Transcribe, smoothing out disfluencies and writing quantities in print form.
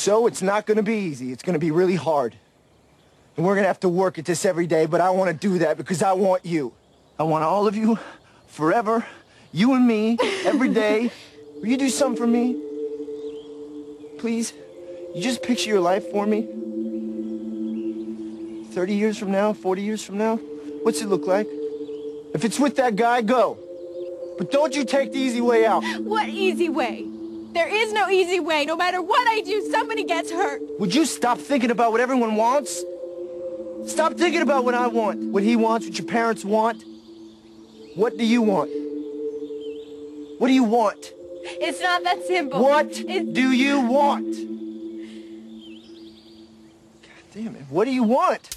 So it's not gonna be easy. It's gonna be really hard. And we're gonna have to work at this every day, but I wanna do that because I want you. I want all of you, forever, you and me, every day. Will you do something for me? Please? You just picture your life for me? 30 years from now, 40 years from now? What's it look like? If it's with that guy, go. But don't you take the easy way out. What easy way? There is no easy way. No matter what I do, somebody gets hurt. Would you stop thinking about what everyone wants? Stop thinking about what I want, what he wants, what your parents want. What do you want? What do you want? It's not that simple. What do you want? God damn it, what do you want?